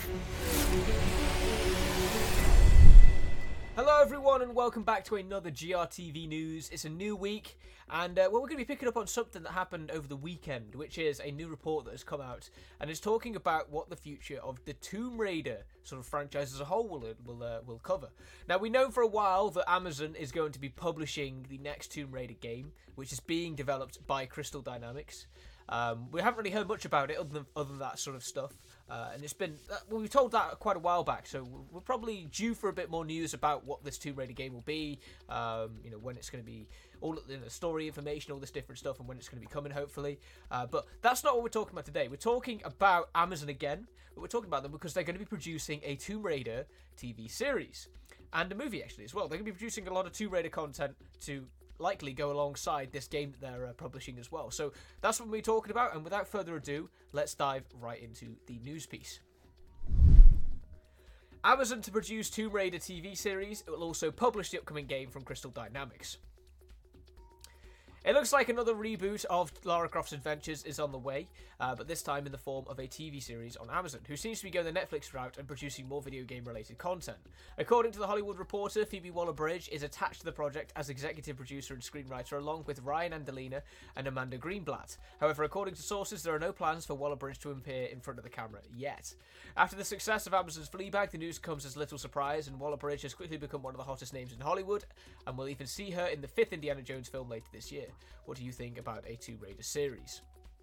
Hello everyone and welcome back to another GRTV News. It's a new week and we're going to be picking up on something that happened over the weekend, which is a new report that has come out and is talking about what the future of the Tomb Raider sort of franchise as a whole will cover. Now, we know for a while that Amazon is going to be publishing the next Tomb Raider game, which is being developed by Crystal Dynamics. We haven't really heard much about it other than that sort of stuff. And it's been, we were told that quite a while back, so we're probably due for a bit more news about what this Tomb Raider game will be, when it's going to be, all the story information, all this different stuff, and when it's going to be coming, hopefully. But that's not what we're talking about today. We're talking about Amazon again, but we're talking about them because they're going to be producing a Tomb Raider TV series, and a movie actually as well. They're going to be producing a lot of Tomb Raider content to likely go alongside this game that they're publishing as well. So that's what we're talking about, and without further ado, let's dive right into the news piece. Amazon to produce Tomb Raider TV series. It will also publish the upcoming game from Crystal Dynamics. It looks like another reboot of Lara Croft's adventures is on the way, but this time in the form of a TV series on Amazon, who seems to be going the Netflix route and producing more video game related content. According to The Hollywood Reporter, Phoebe Waller-Bridge is attached to the project as executive producer and screenwriter, along with Ryan Angelina and Amanda Greenblatt. However, according to sources, there are no plans for Waller-Bridge to appear in front of the camera yet. After the success of Amazon's Fleabag, the news comes as little surprise, and Waller-Bridge has quickly become one of the hottest names in Hollywood, and we'll even see her in the 5th Indiana Jones film later this year. What do you think about a Tomb Raider series?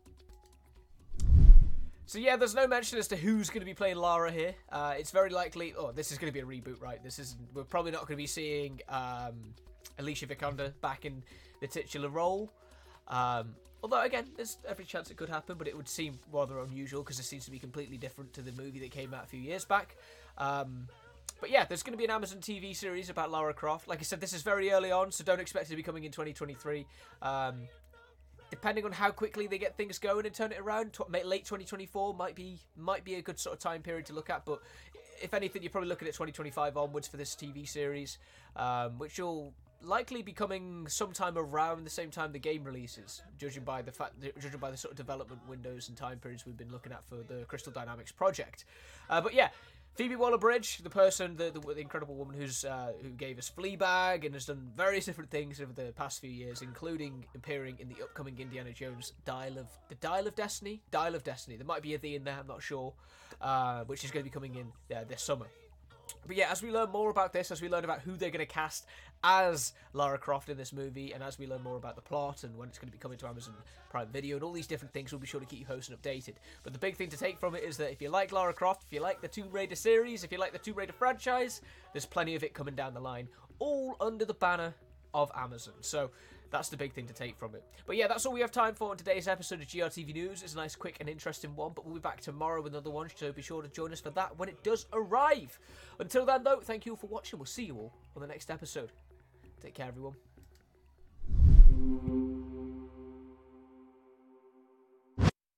So yeah, there's no mention as to who's going to be playing Lara here. It's very likely, this is going to be a reboot, right? We're probably not going to be seeing Alicia Vikander back in the titular role. Although, again, there's every chance it could happen, but it would seem rather unusual because it seems to be completely different to the movie that came out a few years back. But yeah, there's going to be an Amazon TV series about Lara Croft. Like I said, this is very early on, so don't expect it to be coming in 2023. Depending on how quickly they get things going and turn it around, late 2024 might be a good sort of time period to look at. But if anything, you're probably looking at 2025 onwards for this TV series, which will likely be coming sometime around the same time the game releases, judging by the sort of development windows and time periods we've been looking at for the Crystal Dynamics project. But yeah, Phoebe Waller-Bridge, the person, the incredible woman who gave us Fleabag and has done various different things over the past few years, including appearing in the upcoming Indiana Jones Dial of Destiny. There might be a "the" in there, I'm not sure, which is going to be coming in this summer. But yeah, as we learn more about this, as we learn about who they're going to cast as Lara Croft in this movie, and as we learn more about the plot and when it's going to be coming to Amazon Prime Video and all these different things, we'll be sure to keep you posted and updated. But the big thing to take from it is that if you like Lara Croft, if you like the Tomb Raider series, if you like the Tomb Raider franchise, there's plenty of it coming down the line, all under the banner of Amazon. So that's the big thing to take from it. But yeah, that's all we have time for in today's episode of GRTV News. It's a nice, quick and interesting one, but we'll be back tomorrow with another one, so be sure to join us for that when it does arrive. Until then, though, thank you all for watching. We'll see you all on the next episode. Take care, everyone.